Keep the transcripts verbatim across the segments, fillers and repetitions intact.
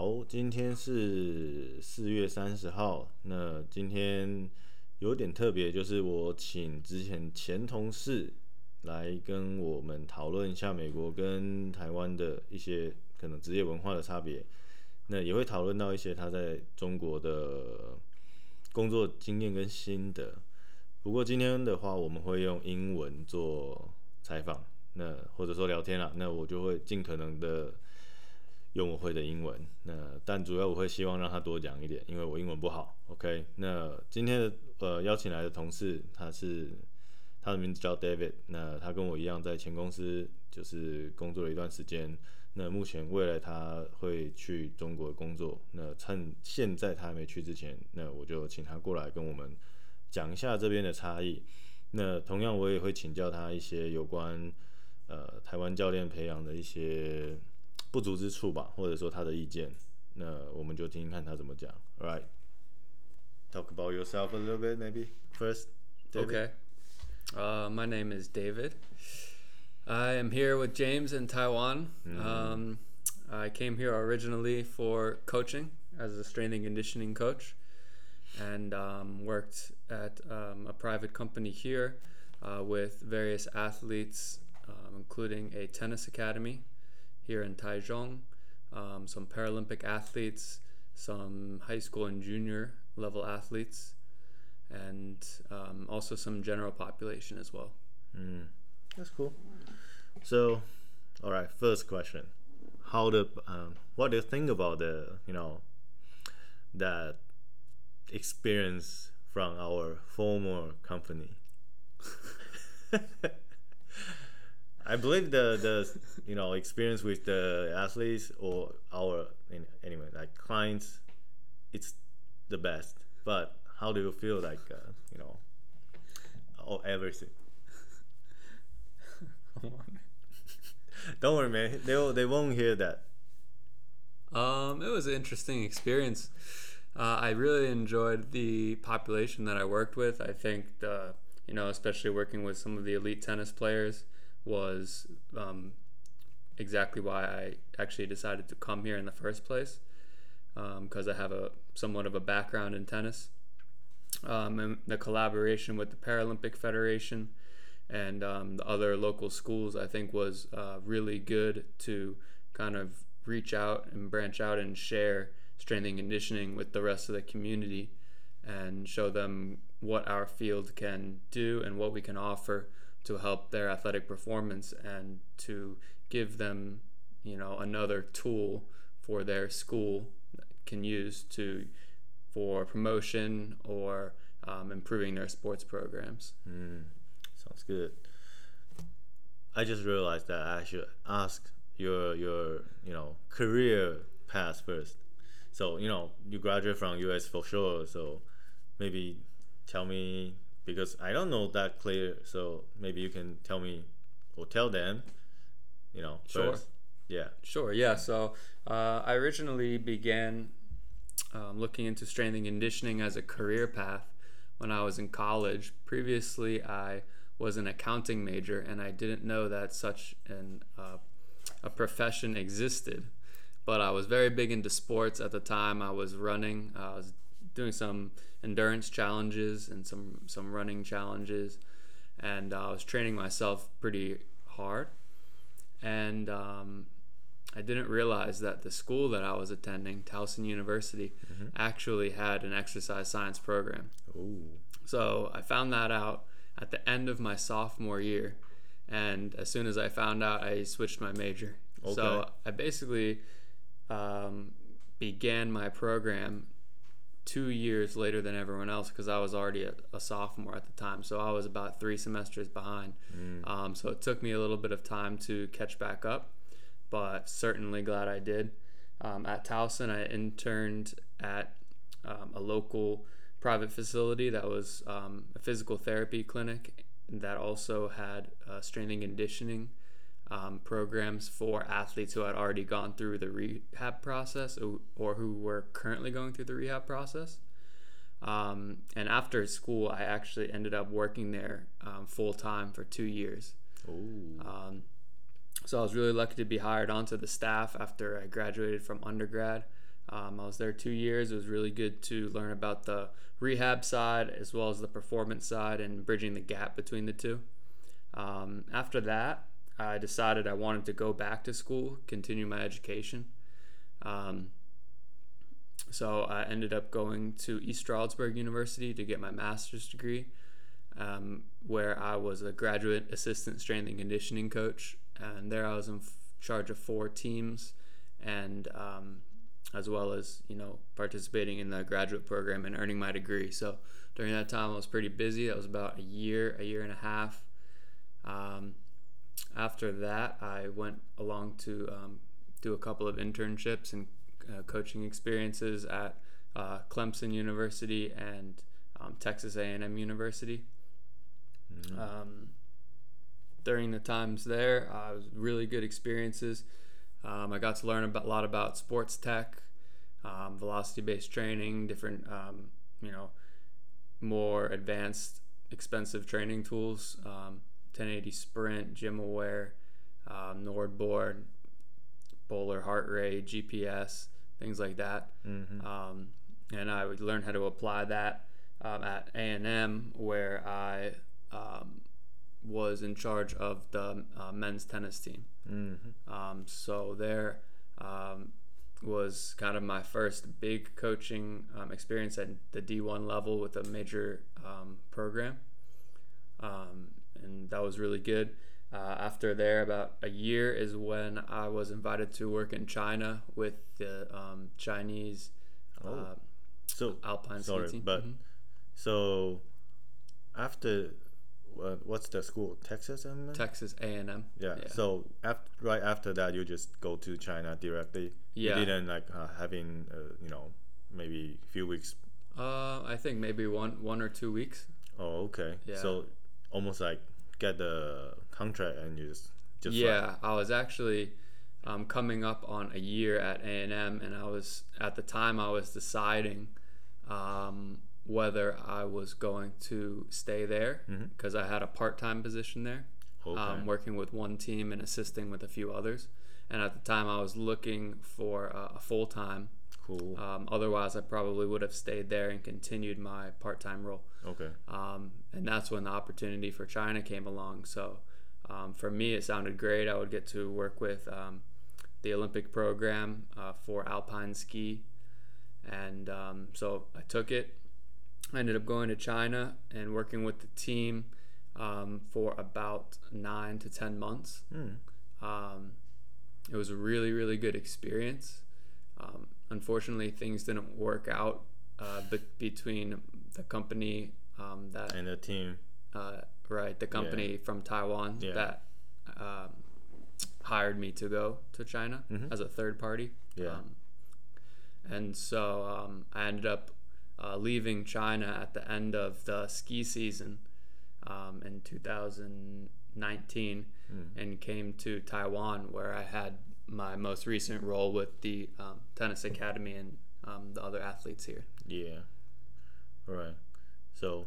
好，今天是四月三十号。那今天有点特别，就是我请之前前同事来跟我们讨论一下美国跟台湾的一些可能职业文化的差别。那也会讨论到一些他在中国的工作经验跟心得。不过今天的话，我们会用英文做采访，那或者说聊天啦。那我就会尽可能的用我会的英文，那但主要我会希望让他多讲一点，因为我英文不好。OK， 那今天的呃邀请来的同事，他是他的名字叫 David， 那他跟我一样在前公司就是工作了一段时间。那目前未来他会去中国工作，那趁现在他还没去之前，那我就请他过来跟我们讲一下这边的差异。那同样我也会请教他一些有关呃台湾教练培养的一些不足之处吧，或者说他的意见。那我们就听听看他怎么讲。All right, talk about yourself a little bit, maybe first. David? Okay. Uh, my name is David. I am here with James in Taiwan. Mm. Um, I came here originally for coaching as a strength and conditioning coach, and um, worked at um, a private company here uh, with various athletes, um, including a tennis academy here in Taichung, um, some Paralympic athletes, some high school and junior level athletes, and um, also some general population as well. Mm, that's cool. So, all right, first question: How the um, what do you think about the you know that experience from our former company? I believe the the you know experience with the athletes or our anyway like clients, it's the best. But how do you feel like uh, you know or everything? Come on. Don't worry, man. They they won't hear that. Um, it was an interesting experience. Uh, I really enjoyed the population that I worked with. I think the you know especially working with some of the elite tennis players was um, exactly why I actually decided to come here in the first place, because um, I have a somewhat of a background in tennis. Um, and the collaboration with the Paralympic Federation and um, the other local schools, I think, was uh, really good to kind of reach out and branch out and share strength and conditioning with the rest of the community and show them what our field can do and what we can offer to help their athletic performance, and to give them, you know, another tool for their school can use to for promotion or um, improving their sports programs. Mm, sounds good. I just realized that I should ask your your you know career path first. So you know you graduate from U S for sure. So maybe tell me, because I don't know that clear. So maybe you can tell me or tell them. You know. Sure. First. Yeah. Sure. Yeah. So uh, I originally began um, looking into strength and conditioning as a career path when I was in college. Previously, I was an accounting major, and I didn't know that such an uh, a profession existed. But I was very big into sports at the time. I was running. I was doing some endurance challenges and some some running challenges, and uh, I was training myself pretty hard. And um, I didn't realize that the school that I was attending, Towson University, mm-hmm. actually had an exercise science program. Ooh. So I found that out at the end of my sophomore year, and as soon as I found out, I switched my major. Okay. So I basically um, began my program two years later than everyone else, because I was already a, a sophomore at the time. So I was about three semesters behind. Mm. Um, so it took me a little bit of time to catch back up, but certainly glad I did. Um, at Towson, I interned at um, a local private facility that was um, a physical therapy clinic that also had uh, strength and conditioning um, programs for athletes who had already gone through the rehab process or, or who were currently going through the rehab process. Um, and after school, I actually ended up working there um, full time for two years. Um, so I was really lucky to be hired onto the staff after I graduated from undergrad. Um, I was there two years. It was really good to learn about the rehab side as well as the performance side and bridging the gap between the two. Um, after that, I decided I wanted to go back to school, continue my education. Um, so I ended up going to East Stroudsburg University to get my master's degree, um, where I was a graduate assistant strength and conditioning coach. And there I was in f- charge of four teams, and um, as well as, you know, participating in the graduate program and earning my degree. So during that time, I was pretty busy. That was about a year, a year and a half. Um, after that, I went along to um, do a couple of internships and uh, coaching experiences at uh, Clemson University and um, Texas A and M University. Mm-hmm. Um, during the times there, uh, it was really good experiences. Um, I got to learn about, a lot about sports tech, um, velocity-based training, different, um, you know, more advanced, expensive training tools, um, ten eighty Sprint, GymAware, um, NordBoard, Bowler Heart Rate, G P S, things like that. Mm-hmm. Um, and I would learn how to apply that um, at A and M, where I um, was in charge of the uh, men's tennis team. Mm-hmm. Um, so there um, was kind of my first big coaching um, experience at the D one level with a major um, program. Um, and that was really good. Uh, after there, about a year is when I was invited to work in China with the um, Chinese oh. uh, so alpine sorry, ski team. But mm-hmm. so after uh, what's the school? Texas A and M? Texas A and M. Yeah. yeah. So after, right after that, you just go to China directly. Yeah. You didn't like uh, having uh, you know maybe a few weeks. Uh, I think maybe one one or two weeks. Oh, okay. Yeah. So almost like get the contract and you just just yeah. Fly. I was actually um, coming up on a year at A and M, and I was at the time I was deciding um, whether I was going to stay there because mm-hmm. I had a part-time position there, okay. um, working with one team and assisting with a few others. And at the time, I was looking for uh, a full-time. Cool. Um, otherwise, I probably would have stayed there and continued my part-time role. Okay. Um, and that's when the opportunity for China came along. So um, for me, it sounded great. I would get to work with um, the Olympic program uh, for alpine ski. And um, so I took it. I ended up going to China and working with the team um, for about nine to ten months. Mm. Um, it was a really, really good experience. Um, unfortunately, things didn't work out uh, be- between the company um, that and the team, uh, right? The company yeah. from Taiwan yeah. that um, hired me to go to China mm-hmm. as a third party. Yeah, um, and so um, I ended up. Uh, leaving China at the end of the ski season um, in two thousand nineteen mm. and came to Taiwan, where I had my most recent role with the um, tennis academy and um, the other athletes here. Yeah. All right. So.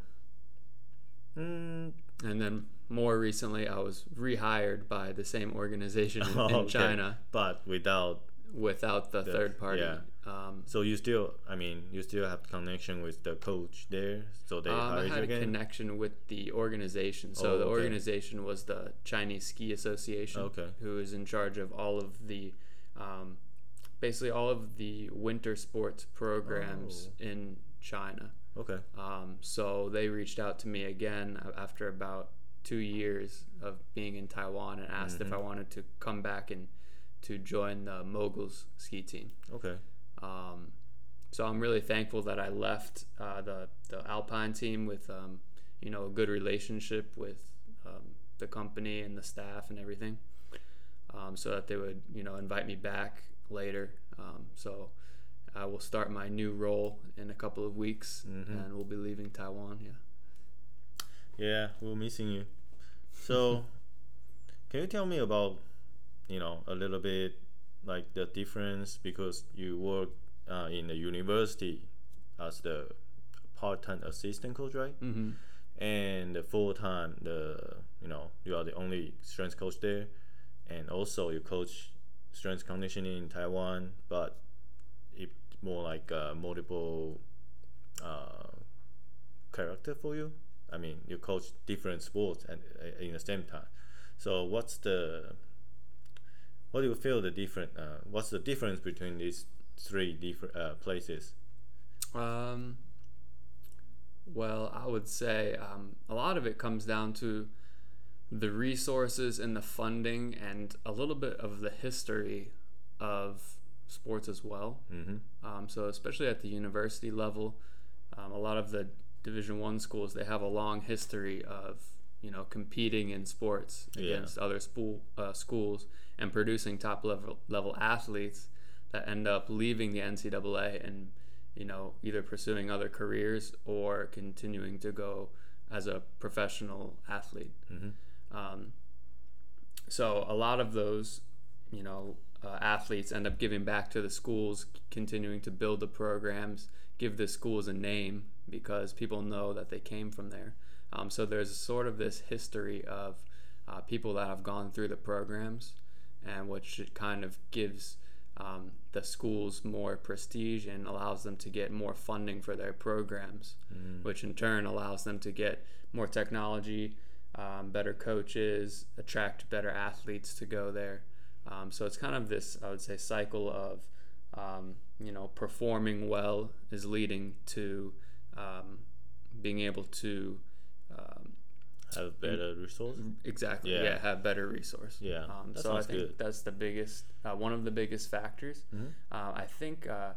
Mm. And then more recently, I was rehired by the same organization in, oh, in okay. China, but without without the, the third party. Yeah. Um, so you still, I mean, you still have connection with the coach there, so they um, hired I had you a again? connection with the organization. So oh, the okay. organization was the Chinese Ski Association, okay. who is in charge of all of the, um, basically all of the winter sports programs oh. in China. Okay. Um, so they reached out to me again after about two years of being in Taiwan and asked mm-hmm. if I wanted to come back and to join the Moguls ski team. Okay. Um, so I'm really thankful that I left uh, the the Alpine team with um, you know a good relationship with um, the company and the staff and everything, um, so that they would you know invite me back later. Um, so I will start my new role in a couple of weeks, mm-hmm. and we'll be leaving Taiwan. Yeah. Yeah, we're missing you. So, can you tell me about you know a little bit? Like the difference because you work uh, in the university as the part-time assistant coach, right? Mm-hmm. And the full-time, the you know you are the only strength coach there, and also you coach strength conditioning in Taiwan. But it like uh, multiple uh, character for you? I mean, you coach different sports and uh, in the same time. So what's the what do you feel the different? Uh, what's the difference between these three different uh, places? Um, well, I would say um, a lot of it comes down to the resources and the funding and a little bit of the history of sports as well. Mm-hmm. Um, so especially at the university level, um, a lot of the Division One schools, they have a long history of you know competing in sports Yeah. against other school uh, schools and producing top level level athletes that end up leaving the N C double A and you know either pursuing other careers or continuing to go as a professional athlete. Mm-hmm. Um, so a lot of those, you know, uh, athletes end up giving back to the schools, continuing to build the programs, give the schools a name because people know that they came from there. Um, so there's sort of this history of uh, people that have gone through the programs, and which kind of gives um, the schools more prestige and allows them to get more funding for their programs, Mm. which in turn allows them to get more technology, um, better coaches, attract better athletes to go there. Um, so it's kind of this, I would say, cycle of, um, you know, performing well is leading to um, being able to um, Have better resources. exactly, Yeah. yeah, have better resource. Yeah, Um, that so I sounds think good. that's the biggest, uh, one of the biggest factors. Mm-hmm. Uh, I think uh,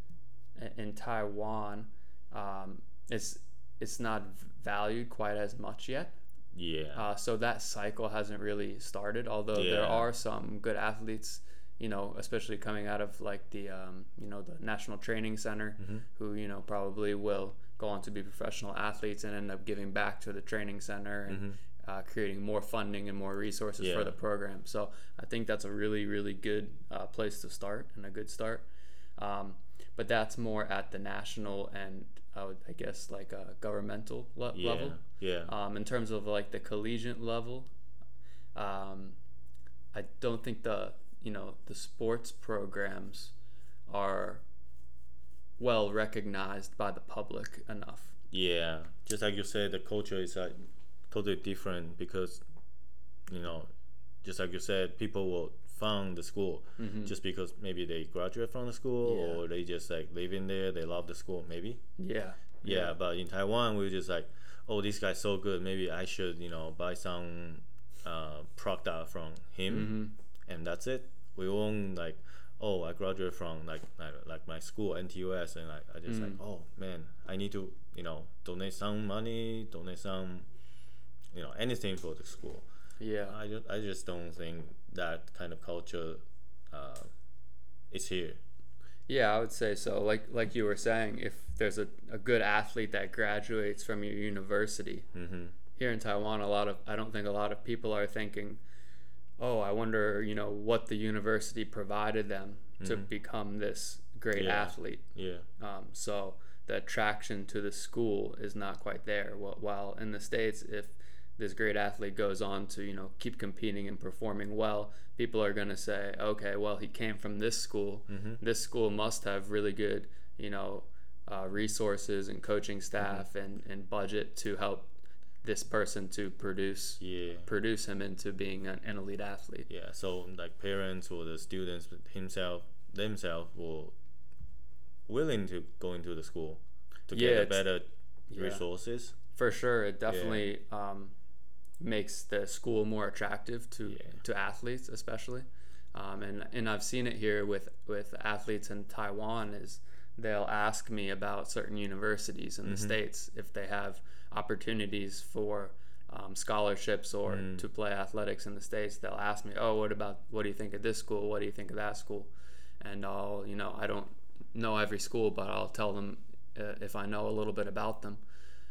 in in Taiwan, um, it's it's not valued quite as much yet. Yeah. Uh, so that cycle hasn't really started. Although there Yeah. are some good athletes, you know, especially coming out of like the um, you know the National Training Center, Mm-hmm. who you know probably will go on to be professional athletes and end up giving back to the training center and Mm-hmm. uh, creating more funding and more resources Yeah. for the program. So I think that's a really really good uh, place to start and a good start. Um, but that's more at the national and I would I guess like a governmental le- Yeah. level. Yeah. Um, in terms of like the collegiate level, um, I don't think the you know the sports programs are well recognized by the public enough. Yeah, just like you said, the culture is like totally different because, you know, just like you said, people will found the school Mhm. just because maybe they graduate from the school Yeah. or they just like live in there, they love the school, maybe. Yeah. Yeah, but in Taiwan, we're just like, oh, this guy's so good. Maybe I should, you know, buy some uh, product from him, Mhm. and that's it. We won't like, oh, I graduated from like like, like my school N T U S, and like I just like, Mm. oh man, I need to, you know, donate some money, donate some, you know, anything for the school. Yeah. I just, I just don't think that kind of culture uh, is here. Yeah, I would say so. Like like you were saying, if there's a, a good athlete that graduates from your university, Mm-hmm. here in Taiwan, a lot of I don't think a lot of people are thinking, oh, I wonder, you know, what the university provided them to Mhm. become this great Yeah. athlete. Yeah. Um, so the attraction to the school is not quite there. Wh- While in the States, if this great athlete goes on to, you know, keep competing and performing well, people are going to say, okay, well, he came from this school. Mm-hmm. This school must have really good, you know, uh, resources and coaching staff and, and budget to help this person to produce Yeah. produce him into being an, an elite athlete. Yeah. So like parents or the students himself themselves will willing to go into the school to Yeah, get a it's- better yeah. resources. For sure, it definitely um, makes the school more attractive to Yeah. to athletes, especially. Um, and and I've seen it here with with athletes in Taiwan. Is they'll ask me about certain universities in the Mhm. States if they have opportunities for um, scholarships or Mm. to play athletics in the States. They'll ask me, oh, what about what do you think of this school? What do you think of that school? And I'll you know I don't know every school, but I'll tell them uh, if I know a little bit about them.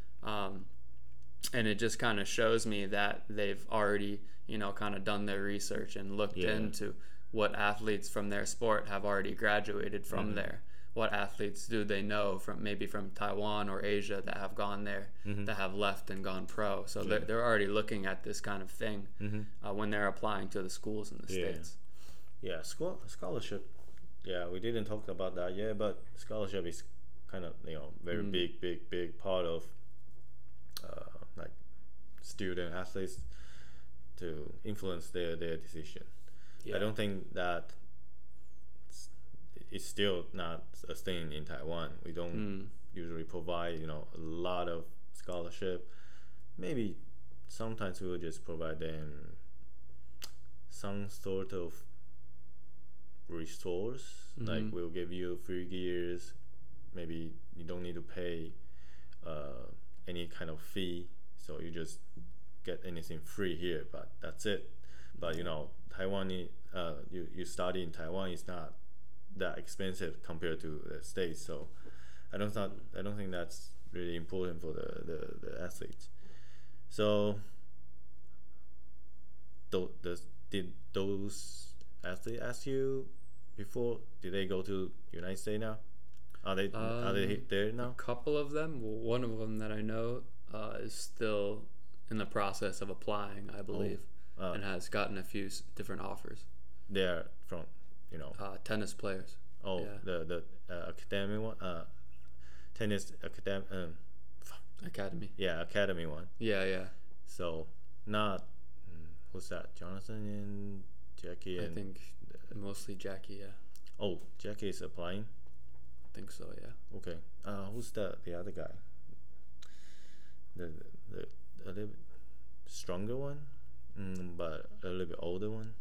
Um, and it just kind of shows me that they've already, you know, kind of done their research and looked Yeah. into what athletes from their sport have already graduated from Mhm. there. What athletes do they know from maybe from Taiwan or Asia that have gone there, Mhm. that have left and gone pro. So Yeah. they're, they're already looking at this kind of thing Mm-hmm. uh, when they're applying to the schools in the Yeah. States. Yeah. School scholarship Yeah, we didn't talk about that yet, but scholarship is kind of you know very Mm. big, big, big part of uh, like student athletes to influence their their decision. Yeah. I don't think that it's, it's still not a thing in Taiwan. We don't Mm. usually provide you know a lot of scholarship. Maybe sometimes we will just provide them some sort of resource. Like Mhm. we'll give you free gears. Maybe you don't need to pay uh, any kind of fee, so you just get anything free here. But that's it. But you know, Taiwan, uh, you you study in Taiwan is not that expensive compared to the states. So I don't thought I don't think that's really important for the the, the athletes. So th- does, did those athletes ask you before? Did they go to United States now? Are they are they Um, there a now? couple of them. Well, one of them that I know uh, is still in the process of applying, I believe, Uh, and has gotten a few s- different offers. they're from you know Uh, tennis players. oh Yeah. the the uh, academy one uh tennis academy um Academy. yeah academy one. Yeah, yeah. So not mm, who's that? Jonathan and Jackie I and think mostly Jackie. Yeah, oh Jackie is applying. I think so. Yeah. Okay. Uh, who's the the other guy? The the, the a little bit stronger one, mm, but a little bit older one.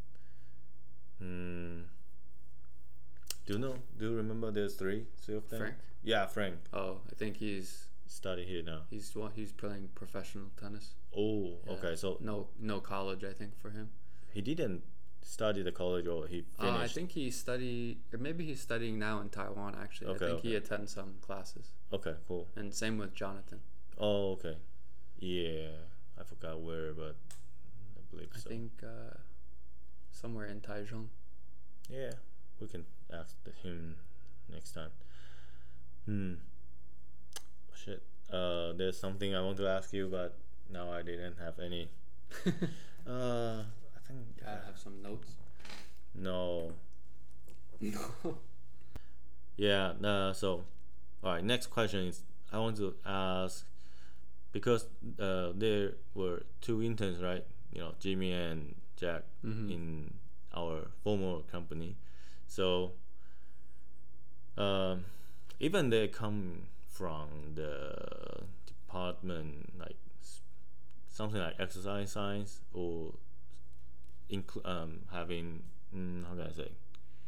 Mm, do you know? Do you remember there's three, three of them? Frank. Yeah, Frank. Oh, I think he's Study here now. he's what he's playing professional tennis. Oh, Yeah. okay. So No, no college. I think for him. he didn't study the college, or he Uh, finished. I think he study, or maybe he's studying now in Taiwan. Actually, Okay, I think he okay. attends some classes, Okay, cool. and same with Jonathan. Oh, okay. Yeah, I forgot where, but I believe I so. think uh, somewhere in Taichung. Yeah, we can ask the, him next time. Hmm. Shit. Uh, there's something I want to ask you, but now I didn't have any. Uh, I think. Gotta have some notes. No. No. Yeah. Uh, so, all right. Next question is I want to ask because uh, there were two interns, right? You know, Jimmy and Jack Mhm. in our former company. So, um, even they come from the department like s- something like exercise science or inclu- um, having mm, how can I say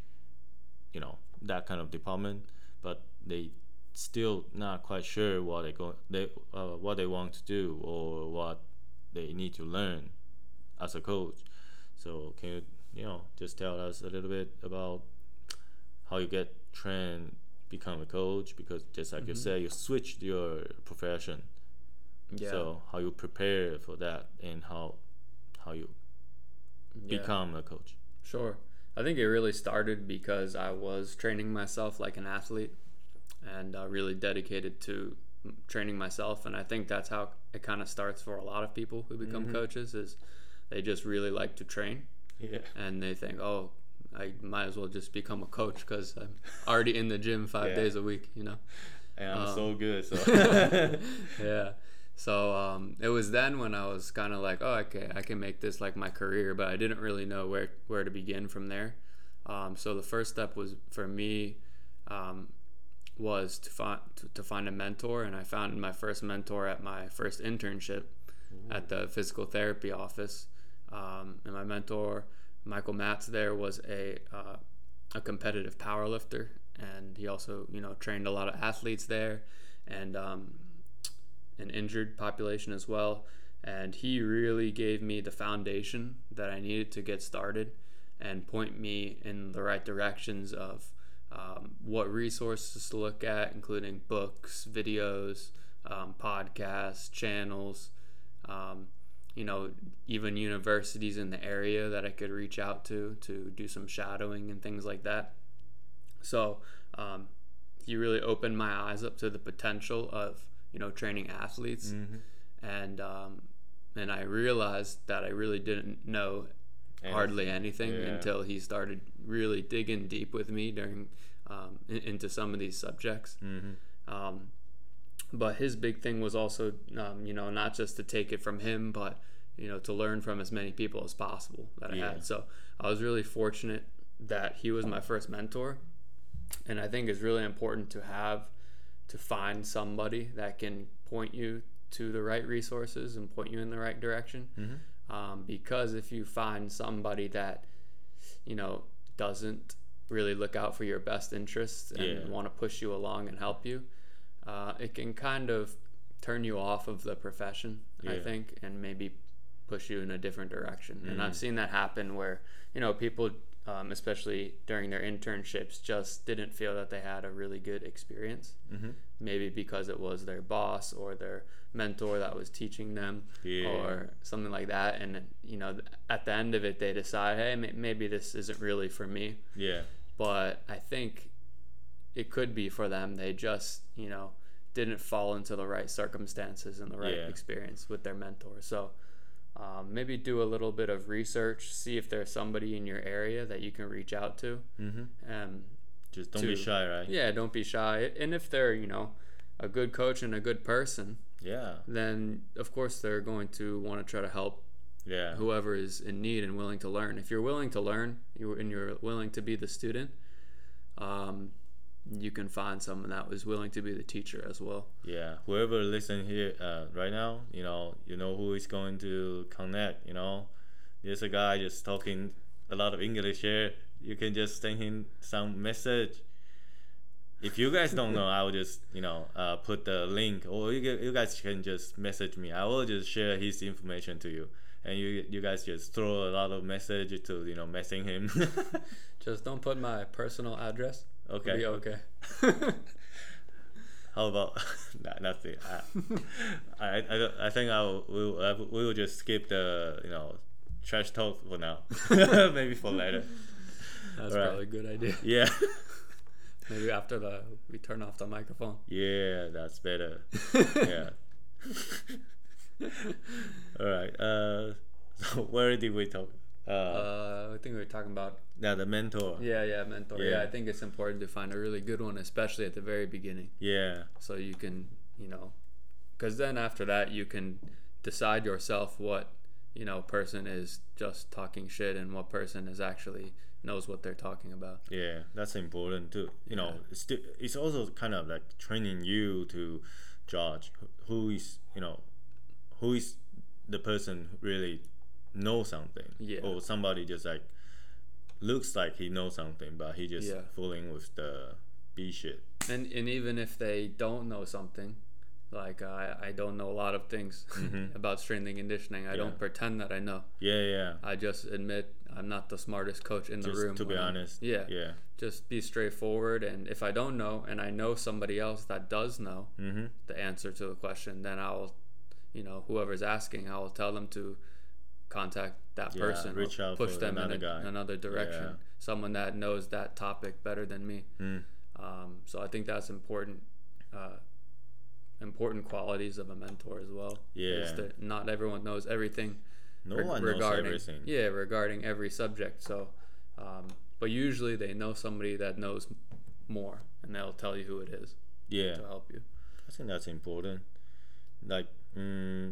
you know that kind of department, but they still not quite sure what they go they uh, what they want to do or what they need to learn as a coach. So can you you know just tell us a little bit about how you get trained become a coach, because just like you Mhm. said you switched your profession. Yeah. So how you prepare for that and how how you Yeah. become a coach. Sure. I think it really started because I was training myself like an athlete and uh, really dedicated to mm, training myself. And I think that's how it kind of starts for a lot of people who become Mhm. coaches is they just really like to train Yeah. and they think, oh, I might as well just become a coach because I'm already in the gym five Yeah. days a week, you know? And I'm Um, so good. So Yeah. So um, it was then when I was kind of like, oh, okay, I can make this like my career, but I didn't really know where where to begin from there. Um, so the first step was for me um, was to find to, to find a mentor, and I found my first mentor at my first internship at the physical therapy office. Um, and my mentor, Michael Matz, there was a uh, a competitive powerlifter, and he also you know trained a lot of athletes there, and um, an injured population as well. And he really gave me the foundation that I needed to get started and point me in the right directions of um, what resources to look at, including books, videos, um, podcasts, channels, um, you know, even universities in the area that I could reach out to to do some shadowing and things like that. So um, he really opened my eyes up to the potential of you know training athletes, Mhm. and um, and I realized that I really didn't know And hardly anything yeah. until he started really digging deep with me during um, in, into some of these subjects. Mm-hmm. Um, but his big thing was also, um, you know, not just to take it from him, but you know, to learn from as many people as possible that I Yeah. had. So I was really fortunate that he was my first mentor, and I think it's really important to have to find somebody that can point you to the right resources and point you in the right direction. Mm-hmm. Um, because if you find somebody that, you know, doesn't really look out for your best interests and Yeah. want to push you along and help you, uh, it can kind of turn you off of the profession, I Yeah. think, and maybe push you in a different direction. And Mm. I've seen that happen where, you know, people, um, especially during their internships, just didn't feel that they had a really good experience. Mm-hmm. Maybe because it was their boss or their mentor that was teaching them, Yeah. or something like that. And, you know, at the end of it, they decide, hey, maybe this isn't really for me. Yeah. But I think it could be for them. They just, you know, didn't fall into the right circumstances and the right Yeah. experience with their mentor. So um, maybe do a little bit of research, see if there's somebody in your area that you can reach out to. Mm-hmm. Um, Just don't to, be shy, right? Yeah, don't be shy. And if they're, you know, a good coach and a good person, Yeah. then of course they're going to want to try to help Yeah. whoever is in need and willing to learn. If you're willing to learn, you and you're willing to be the student, um, you can find someone that was willing to be the teacher as well. Yeah, whoever listen here uh, right now, you know, you know who is going to connect. You know, there's a guy just talking a lot of English here. You can just send him some message. If you guys don't know, I will just you know uh, put the link, or you you guys can just message me. I will just share his information to you, and you you guys just throw a lot of message to you know messing him. Just don't put my personal address. Okay. Be okay. How about nah, nothing? I, I, I, I think I will, we will, we will just skip the you know trash talk for now. Maybe for later. That's Right. probably a good idea. Yeah. Maybe after the we turn off the microphone. Yeah, that's better. Yeah. All right. Uh, so where did we talk? Uh, Uh, I think we were talking about yeah, the mentor. yeah, yeah, mentor. Yeah. Yeah. I think it's important to find a really good one, especially at the very beginning, Yeah. so you can, you know, because then after that you can decide yourself what you know person is just talking shit and what person is actually knows what they're talking about. Yeah, that's important too. You know, Yeah. it's still, it's also kind of like training you to judge who is you know who is the person who really knows something, Yeah. or somebody just like looks like he knows something, but he just Yeah. fooling with the B shit. And and even if they don't know something, like I I don't know a lot of things Mhm. about strength and conditioning. I Yeah. don't pretend that I know. Yeah, yeah. I just admit I'm not the smartest coach in the Just room. to be when I'm- honest. Yeah. Yeah. Just be straightforward, and if I don't know and I know somebody else that does know Mhm. the answer to the question, then I'll, you know, whoever's asking, I will tell them to contact that Yeah, person, reach or out push for them in another a, guy. another direction, Yeah. someone that knows that topic better than me. Mm. Um, so I think that's important. Uh, important qualities of a mentor as well. is Yeah. that not everyone knows everything. No reg- one regarding, knows everything. Yeah, regarding every subject. So, um, but usually they know somebody that knows more, and they'll tell you who it is Yeah. to help you. I think that's important. Like, mm,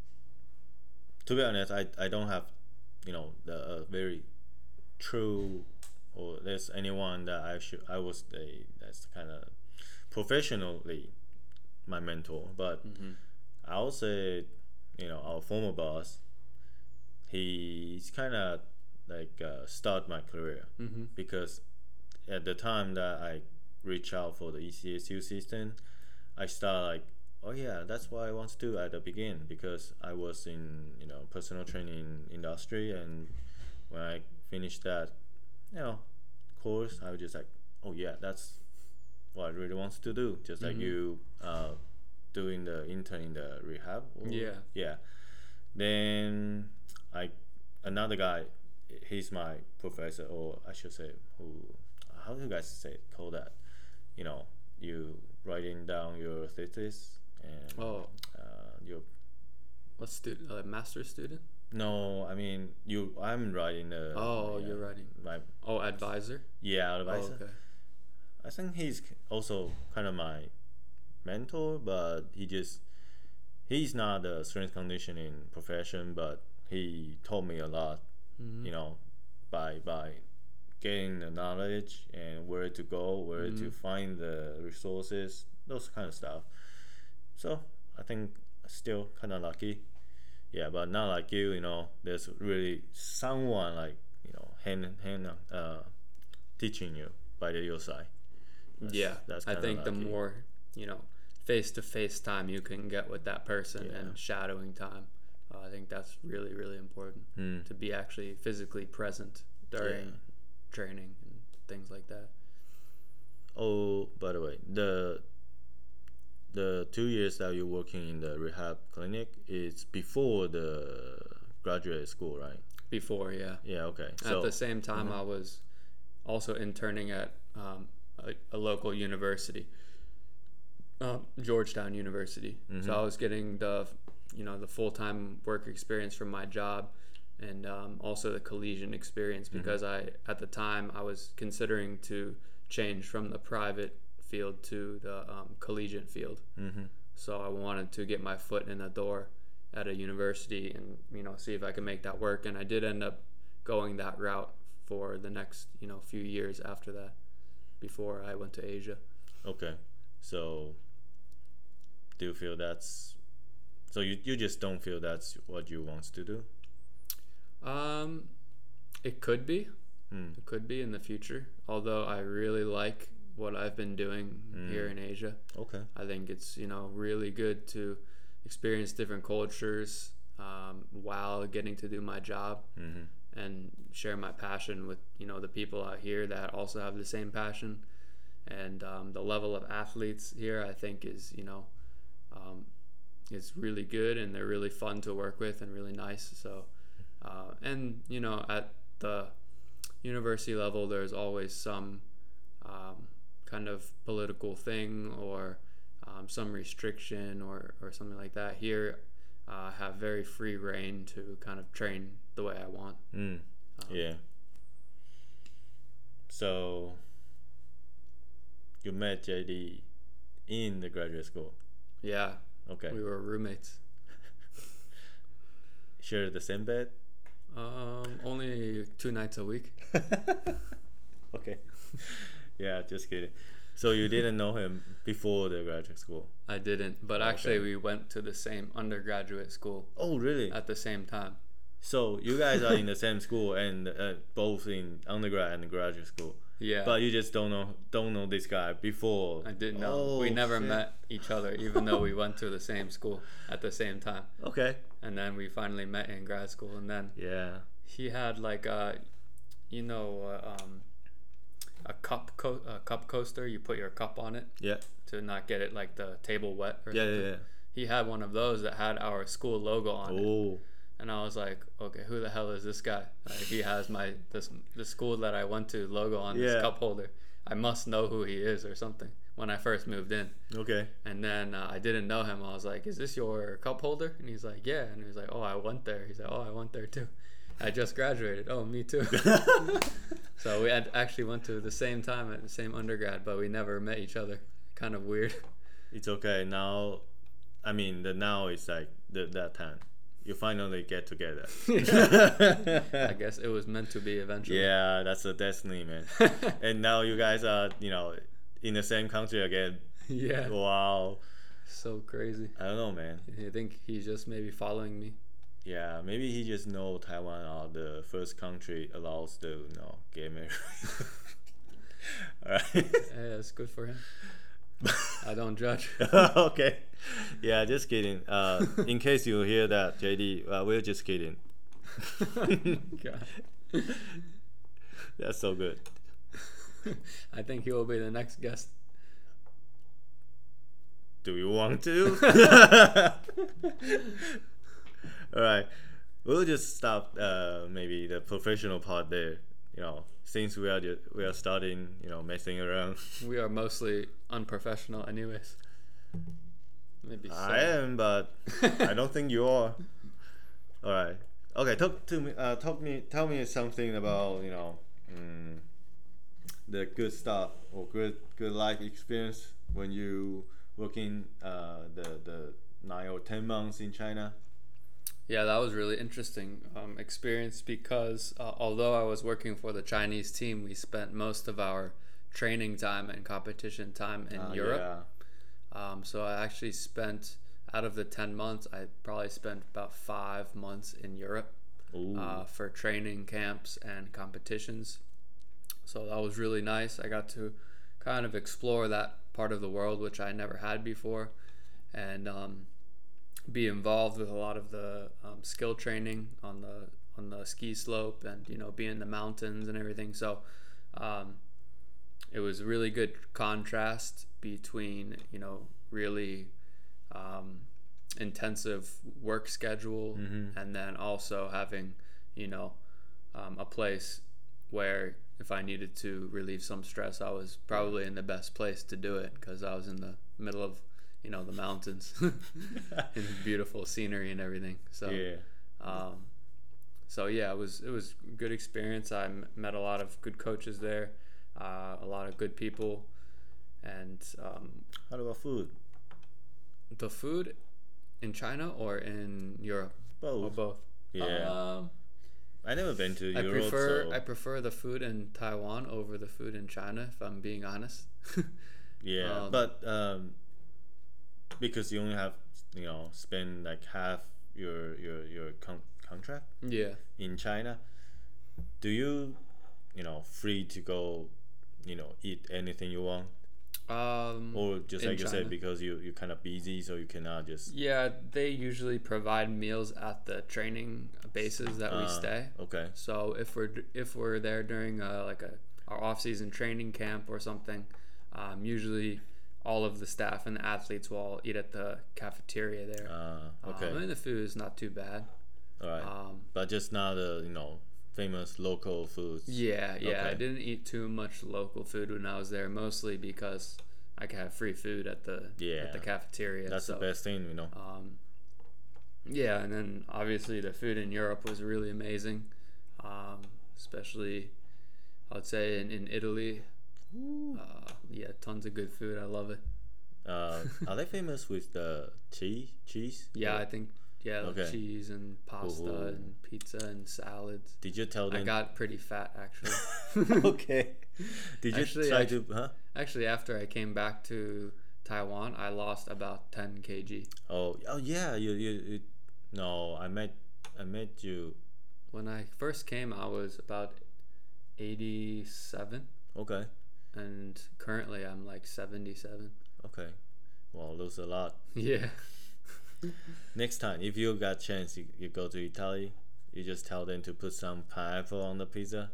to be honest, I, I don't have, you know, the uh, very true, or there's anyone that I should I was a that's kind of professionally my mentor, but Mm-hmm. I would say, you know, our former boss, he's kind of like uh, start my career, Mm-hmm. because at the time that I reach out for the E C S U system, I start like, oh yeah, that's what I want to do at the beginning, because I was in you know personal training industry, and when I finished that, you know, course, I was just like, oh yeah, that's what I really want to do. Just like Mhm. you, uh, doing the intern in the rehab. or- Yeah. Yeah. Then I another guy, he's my professor, or I should say, who? How do you guys say call that? You know, you writing down your thesis and Oh, uh, your what student? A master's student? No, I mean you. I'm writing the. Oh, yeah, you're writing. my Oh, advisor. yeah Oh, advisor. okay. I think he's also kind of my mentor, but he just he's not a strength conditioning profession, but he taught me a lot. Mm-hmm. You know, by by getting the knowledge and where to go, where Mm-hmm. to find the resources, those kind of stuff. So I think still kind of lucky. Yeah, but not like you. You know, there's really someone like you know hand hand uh, teaching you by the your side. That's, Yeah, that's I kinda think the lucky. more, you know, face to face time you can get with that person Yeah. and shadowing time, uh, I think that's really, really important Hmm. to be actually physically present during Yeah. training and things like that. Oh, by the way, the the two years that you're working in the rehab clinic is before the graduate school, right? Before, yeah. Yeah. Okay. At So the same time, Mhm. I was also interning at um, a, a local university, um, Georgetown University. Mhm. So I was getting the, you know, the full time work experience from my job, and um, also the collegiate experience because I at the time I was considering to change from the private field to the um, collegiate field. Mhm. So I wanted to get my foot in the door at a university and you know see if I could make that work, and I did end up going that route for the next you know few years after that before I went to Asia. Okay. So do you feel that's so you you just don't feel that's what you want to do? Um, it could be, Hmm. it could be in the future. Although I really like what I've been doing Mm. here in Asia. Okay. I think it's you know really good to experience different cultures um, while getting to do my job Mhm. and share my passion with you know the people out here that also have the same passion. And um, the level of athletes here, I think, is you know um, is really good, and they're really fun to work with and really nice. So, uh, and you know, at the university level, there's always some um, kind of political thing or um, some restriction or, or something like that. Here, uh, have very free reign to kind of train the way I want. Mm. Um, Yeah. So you met J D in the graduate school. Yeah, Okay. we were roommates. Share the same bed. Um, only two nights a week. Okay. Yeah, just kidding. So you didn't know him before the graduate school? I didn't, but Okay. actually we went to the same undergraduate school Oh, really? at the same time. So you guys are in the same school and uh, both in undergrad and graduate school, Yeah, but you just don't know don't know this guy before. I didn't know. Oh, we never shit. met each other, even though we went to the same school at the same time. Okay. And then we finally met in grad school, and then Yeah. he had like a, you know, uh, um, a cup co- a cup coaster. You put your cup on it Yeah. to not get it like the table wet or Yeah. something. Yeah. yeah. He had one of those that had our school logo on it. Oh. And I was like, okay, who the hell is this guy? Like, he has my this the school that I went to logo on Yeah. this cup holder. I must know who he is or something when I first moved in. Okay. And then uh, I didn't know him. I was like, is this your cup holder? And he's like, yeah. And he was like, oh, I went there. He's like, oh, I went there too. I just graduated. Oh, me too. So we had actually went to the same time at the same undergrad, but we never met each other. Kind of weird. It's okay now. I mean, the now is like the that time. You finally get together. I guess it was meant to be eventually. Yeah, that's a destiny, man. And now you guys are, you know, in the same country again. Yeah. Wow. So crazy. I don't know, man. I think he's just maybe following me. Yeah, maybe he just know Taiwan are the first country allows to, you know, get married. Alright. Yeah, it's good for him. I don't judge. Okay. Yeah, just kidding. Uh, in case you hear that, J D, uh, we're just kidding. God. That's so good. I think he will be the next guest. Do you want to? All right. We'll just stop uh, maybe the professional part there. You know, since we are just, we are starting, you know, messing around. We are mostly unprofessional, anyways. Maybe. I am, but I don't think you are. All right. Okay, talk to me. Uh, talk me. Tell me something about you know um, the good stuff or good good life experience when you working uh, the the nine or ten months in China. Yeah, that was really interesting um, experience because uh, although I was working for the Chinese team, we spent most of our training time and competition time in Uh, Europe. yeah. Um, so I actually spent out of the ten months, I probably spent about five months in Europe Ooh. uh, for training camps and competitions. So that was really nice. I got to kind of explore that part of the world, which I never had before, and um, be involved with a lot of the um, skill training on the on the ski slope, and you know, be in the mountains and everything. So um, it was a really good contrast between you know really um, intensive work schedule, Mm-hmm. and then also having you know um, a place where if I needed to relieve some stress, I was probably in the best place to do it because I was in the middle of you know the mountains and beautiful scenery and everything. So Yeah. um, so yeah, it was it was a good experience. I m- met a lot of good coaches there, uh, a lot of good people, and um, How about food? the food in China or in Europe or Both. both. Yeah. Um, I never been to I Europe, prefer so I prefer the food in Taiwan over the food in China, if I'm being honest. yeah. um, But um, because you only have you know spend like half your your your con- contract yeah. in China, do you you know free to go you know eat anything you want, Um, or just in like you China. said because you you kind of busy so you cannot just Yeah, they usually provide meals at the training bases that we uh, stay. okay. So if we're if we're there during uh, like a our off season training camp or something, um, usually all of the staff and the athletes will all eat at the cafeteria there. Uh, okay. Um, and the food is not too bad. All right. Um, But just not the you know famous local foods. yeah, yeah. I Okay. didn't eat too much local food when I was there, mostly because I could have free food at the Yeah. at the cafeteria. That's so, the best thing, you know. Um, yeah, and then obviously the food in Europe was really amazing, um, especially I would say in, in Italy. Uh, yeah, tons of good food. I love it. Uh, are they famous with the cheese? Cheese? Yeah, Or- I think yeah, like Okay. cheese and pasta Ooh. and pizza and salads. Did you tell them? I got pretty fat actually. Okay. Did you Actually, try actu- to? Huh? Actually, after I came back to Taiwan, I lost about ten kilograms. Oh, oh yeah. You, you, you. No, I met, I met you. When I first came, I was about eighty-seven, Okay. and currently I'm like seventy-seven. Okay. Well, lose a lot. Yeah. Next time, if you got chance, you, you go to Italy. You just tell them to put some pineapple on the pizza.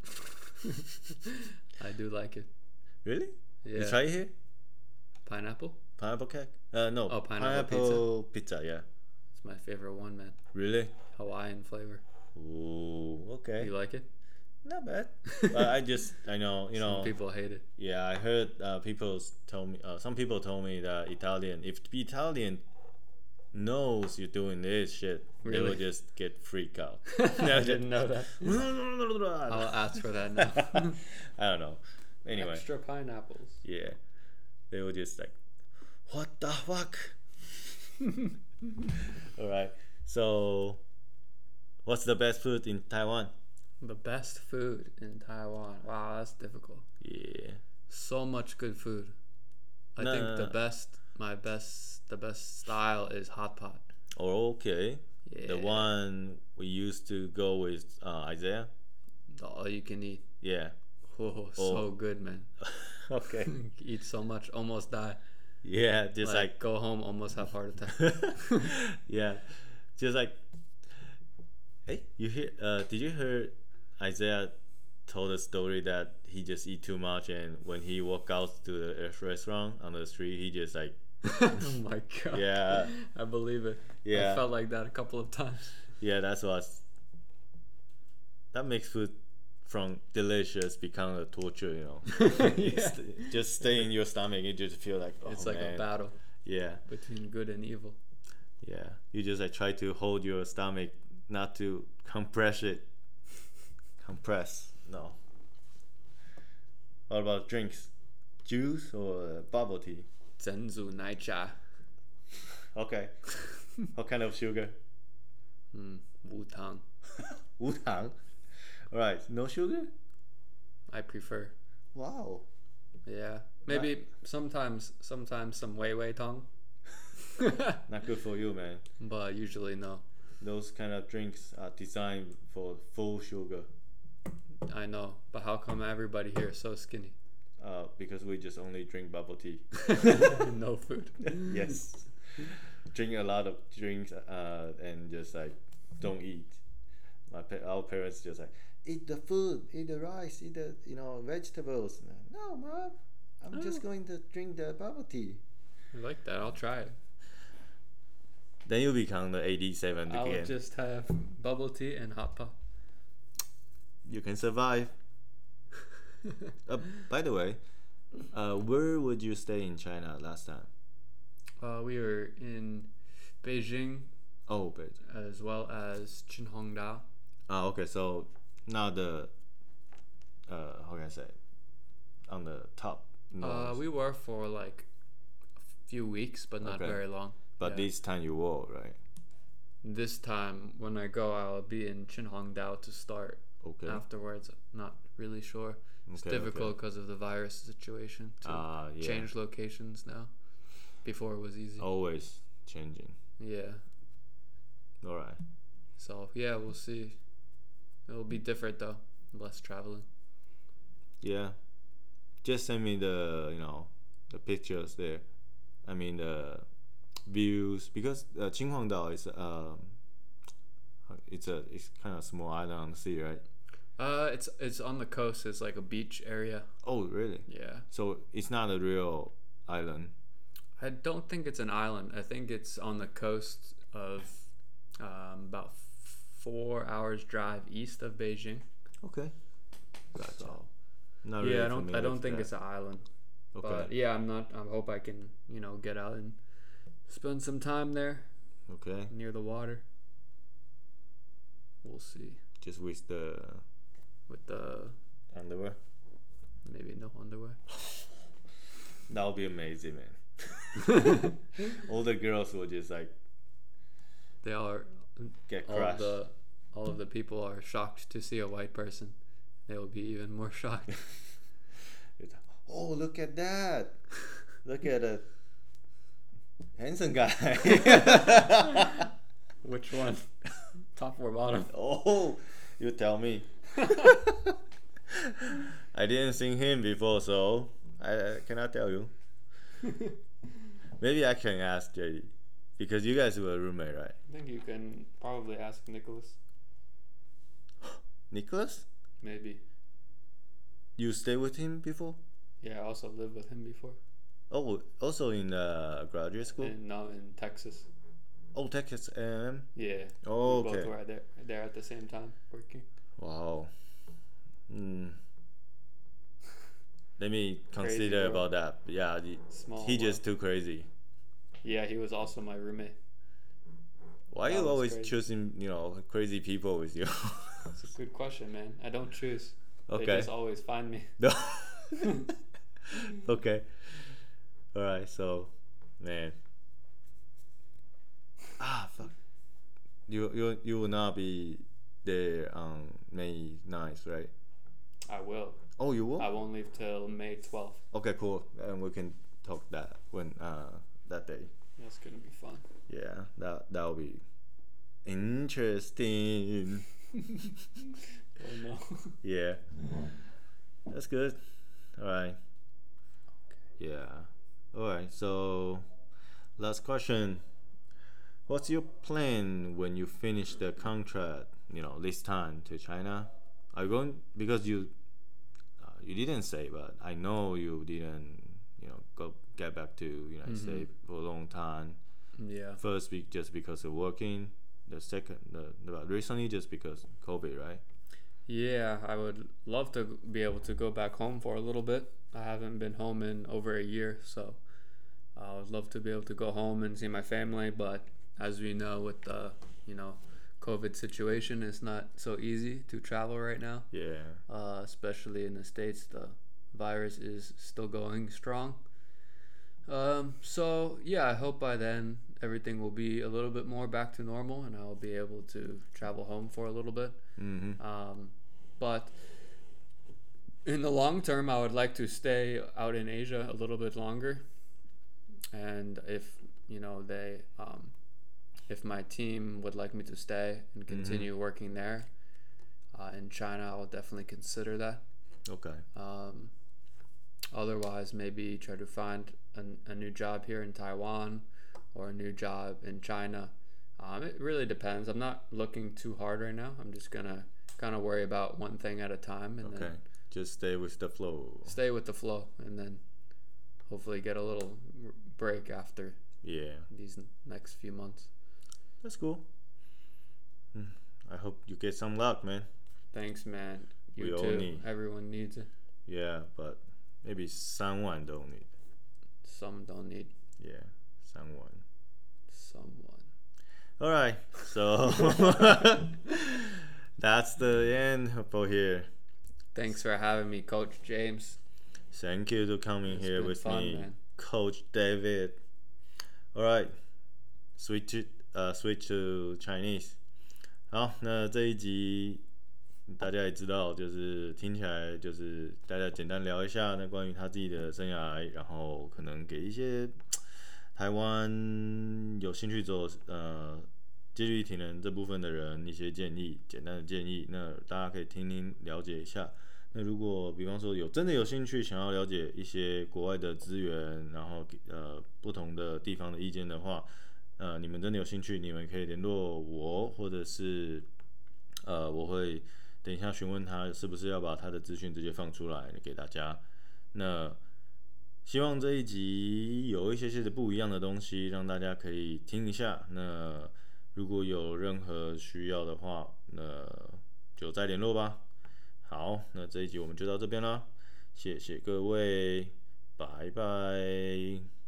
I do like it. Really? Yeah. You try it here? Pineapple? Pineapple cake? Uh, no. Oh, pineapple pineapple pizza. Yeah. It's my favorite one, man. Really? Hawaiian flavor. Ooh. Okay. You like it? Not bad. But I just, I know, you know. Some people hate it. Yeah, I heard uh, people told me. Uh, some people told me that Italian, if the Italian knows you're doing this shit, they will Really? just get freaked out. I didn't know that. I I'll ask for that now. don't know. Anyway, Extra pineapples. yeah, they were just like, what the fuck? All right. So, what's the best food in Taiwan? The best food in Taiwan. Wow, that's difficult. Yeah. So much good food. I No, think no, the no. best, my best, the best style is hot pot. Oh, okay. Yeah. The one we used to go with uh, Isaiah. The all you can eat. Yeah. Oh, so good, man. Okay. Eat so much, almost die. Yeah, just like, like, go home, almost have heart attack. yeah, just like, hey, you hear? Uh, did you hear Isaiah told a story that he just eat too much, and when he walk out to the restaurant on the street, he just like, Oh my god. yeah, I believe it. Yeah. I felt like that a couple of times. yeah, that's what. That makes food from delicious become a torture, you know. Yeah. St- just stay in your stomach, you just feel like, oh, It's like man. a battle Yeah, between good and evil. yeah. You just like try to hold your stomach not to compress it. Compress, no. What about drinks? Juice or bubble tea? 珍珠奶茶 Okay. What kind of sugar? 嗯无糖无糖. Alright, no sugar? I prefer Wow. yeah maybe sometimes sometimes some wei wei tang Not good for you, man. but usually no. Those kind of drinks are designed for full sugar. I know, but how come everybody here is so skinny? Uh, because we just only drink bubble tea. No food. Yes. Drink a lot of drinks uh, and just like don't eat. My pa- our parents just like eat the food, eat the rice, eat the you know vegetables. No, mom, I'm just Oh. going to drink the bubble tea. I like that. I'll try it. Then you become the eighty-seven I'll again. just have bubble tea and hot pot. You can survive. Uh, by the way, uh, where would you stay in China last time? Uh, we were in Beijing Oh, Beijing. as well as Qinhuangdao. Ah, okay. So now the uh, how can I say? On the top. Uh, north. we were for like a few weeks, but not Okay. very long. But yeah. this time you will, right? This time when I go, I'll be in Qinhuangdao to start. Okay. Afterwards, not really sure. It's Okay, difficult because of the virus situation to Ah, yeah. change locations now. Before it was easy. Always changing. Yeah. All right. So yeah, we'll see. It'll be different though. Less traveling. Yeah. Just send me the you know the pictures there. I mean the views because uh, Qinhuangdao is um it's a it's kind of small island on the sea, right? Uh, it's it's on the coast. It's like a beach area. Oh, really? Yeah. So it's not a real island. I don't think it's an island. I think it's on the coast of um, about f- four hours drive east of Beijing. Okay. Gotcha. So Not yeah, really I don't I familiar don't with think that. it's an island. Okay. But yeah, I'm not. I hope I can you know get out and spend some time there Okay. near the water. We'll see Just with the with the underwear. maybe no underwear. That would be amazing, man. All the girls will just like They are get all of crushed. the all of the people are shocked to see a white person. They will be even more shocked. It's, oh, look at that! Look at a handsome guy. Which one? Top or bottom? Oh, you tell me. I didn't see him before, so I, I cannot tell you. Maybe I can ask J D because you guys were a roommate, right? I think you can probably ask Nicholas. Nicholas, Maybe. you stay with him before? Yeah, I also lived with him before. Oh, also in uh, graduate school. And now in Texas. Oh, Texas A and M. Yeah. Oh, We okay. both were there, there at the same time working. Wow. Mm. Let me Crazy consider world. about that. Yeah, he, Small. he world. just too crazy. Yeah, he was also my roommate. Why That you was always crazy. choosing you know crazy people with you? It's a good question, man. I don't choose. They Okay. just always find me. No. Okay. All right. So, man. Ah, fuck. You you you will not be there on May ninth, right? I will. Oh, you will. I won't leave till May twelfth. Okay, cool. And we can talk that when uh that day. That's gonna be fun. Yeah, that that will be interesting. Oh no. Yeah, that's good. All right. Yeah. All right. So, last question. What's your plan when you finish the contract? You know, this time to China. Are you going because you uh, you didn't say, but I know you didn't. You know, go get back to United Mhm. States for a long time. Yeah. First week just because of working. The second, the, the recently just because COVID, right? Yeah, I would love to be able to go back home for a little bit. I haven't been home in over a year, so I would love to be able to go home and see my family. But as we know, with the you know COVID situation is not so easy to travel right now. Yeah. Uh, especially in the States, the virus is still going strong. Um, so yeah, I hope by then everything will be a little bit more back to normal, and I'll be able to travel home for a little bit. Mm-hmm. Um, but in the long term, I would like to stay out in Asia a little bit longer. And if you know they, um, if my team would like me to stay and continue mm-hmm. working there uh, in China, I'll definitely consider that. Okay. Um, otherwise, maybe try to find a, a new job here in Taiwan or a new job in China. Um, it really depends. I'm not looking too hard right now. I'm just gonna kind of worry about one thing at a time, and okay. then just stay with the flow. Stay with the flow, and then hopefully get a little break after. Yeah. These next few months. That's cool. I hope you get some luck, man. Thanks, man. You we too. all need. Everyone needs it. Yeah, but maybe someone don't need. Some don't need. Yeah, someone. Someone. All right, so that's the end for here. Thanks for having me, Coach James. Thank you for coming it's here with fun, me, man. Coach David. All right, switch to 呃、uh, switch to Chinese。好，那这一集大家也知道，就是听起来就是大家简单聊一下那关于他自己的生涯，然后可能给一些台湾有兴趣走呃接力体能这部分的人一些建议，简单的建议，那大家可以听听了解一下。那如果比方说有真的有兴趣想要了解一些国外的资源，然后呃不同的地方的意见的话，呃你们真的有兴趣，你们可以联络我，或者是呃我会等一下询问他是不是要把他的资讯直接放出来给大家。那希望这一集有一些些的不一样的东西，让大家可以听一下。那如果有任何需要的话，那就再联络吧。好，那这一集我们就到这边啦，谢谢各位，拜拜。